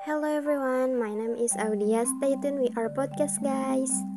Hello everyone, my name is Audia. Stay tuned with our podcast, guys.